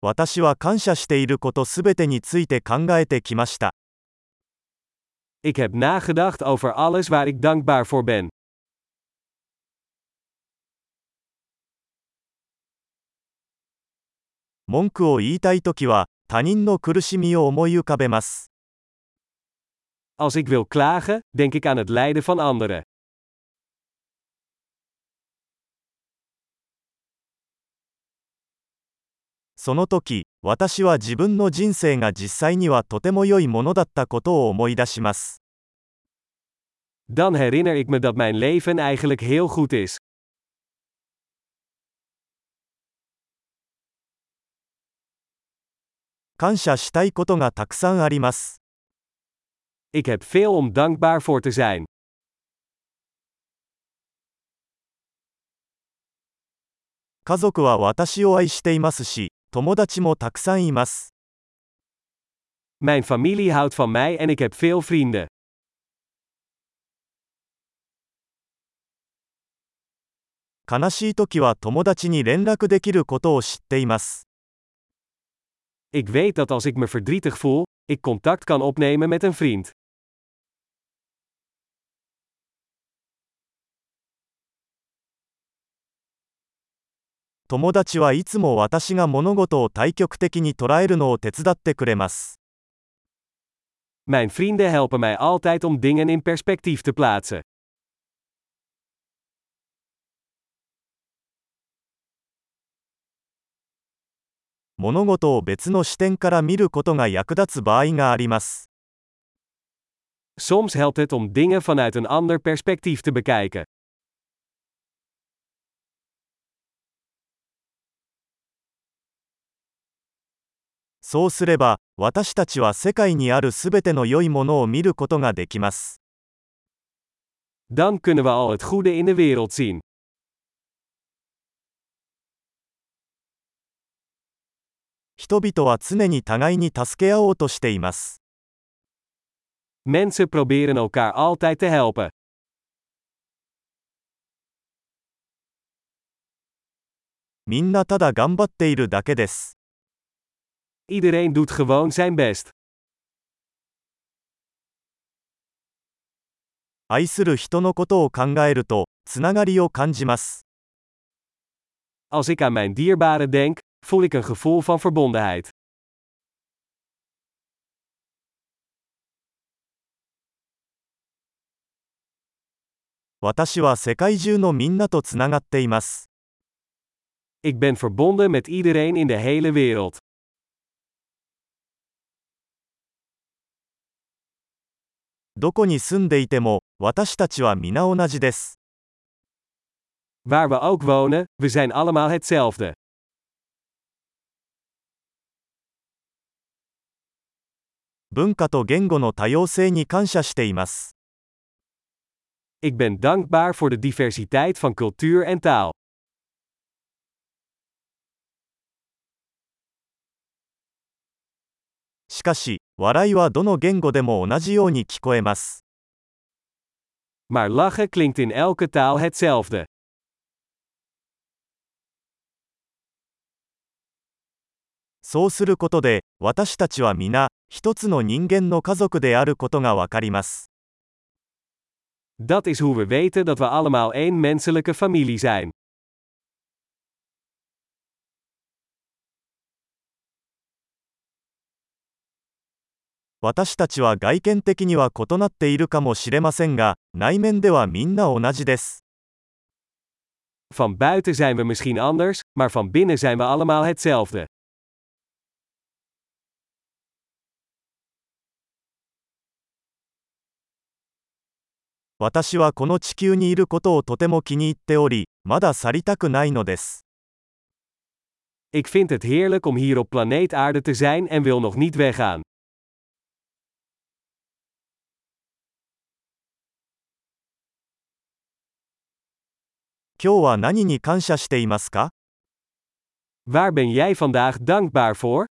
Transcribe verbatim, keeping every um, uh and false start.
私は感謝していることすべてについて考えてきました。 Ik heb nagedacht over alles waar ik dankbaar voor ben. 文句を言いたいときは、他人の苦しみを思い浮かべます。 Als ik wil klagen, denk ik aan het lijden van anderen. その時、私は自分の人生が実際にはとても良いものだったことを思い出します。 Dan herinner ik me dat mijn leven eigenlijk heel goed is. 感謝したいことがたくさんあります。 Ik heb veel om dankbaar voor te zijn. 家族は私を愛していますし、友達もたくさんいます。 Mijn familie houdt van mij en ik heb veel vrienden. 悲しいときは友達に連絡できることを知っています。 Ik weet dat als ik me verdrietig voel, ik contact kan opnemen met een vriend. 友達はいつも私が物事を対極的に捉えるのを手伝ってくれます。 Mijn vrienden helpen mij altijd om dingen in perspectief te plaatsen. 物事を別の視点から見ることが役立つ場合があります。 Soms helpt het om dingen vanuit een ander perspectief te bekijken. そうすれば、私たちは世界にあるすべての良いものを見ることができます。 Dan kunnen we al het goede in de wereld zien. 人々は常に互いに助け合おうとしています。 Mensen proberen elkaar altijd te helpen. みんなただ頑張っているだけです。 Iedereen doet gewoon zijn best. 愛する人のことを考えると、つながりを感じます。 Als ik aan mijn dierbaren denk, voel ik een gevoel van verbondenheid. 私は世界中のみんなとつながっています。 Ik ben verbonden met iedereen in de hele wereld. どこに住んでいても、私たちは皆同じです。 Waar we ook wonen, we zijn allemaal hetzelfde. 文化と言語の多様性に感謝しています。 Ik ben dankbaar voor de diversiteit van cultuur en taal. しかし、笑いはどの言語でも同じように聞こえます。 Maar lachen klinkt in elke taal hetzelfde. そうすることで、私たちは皆、一つの人間の家族であることがわかります。 Dat is hoe we weten dat we allemaal één menselijke familie zijn. 私たちは外見的には異なっているかもしれませんが、内面ではみんな同じです。 Van buiten zijn we misschien anders, maar van binnen zijn we allemaal hetzelfde. 私はこの地球にいることをとても気に入っており、まだ去りたくないのです。 Ik vind het heerlijk om hier op planeet Aarde te zijn en wil nog niet weggaan. 今日は何に感謝していますか？ Waar ben jij vandaag dankbaar voor?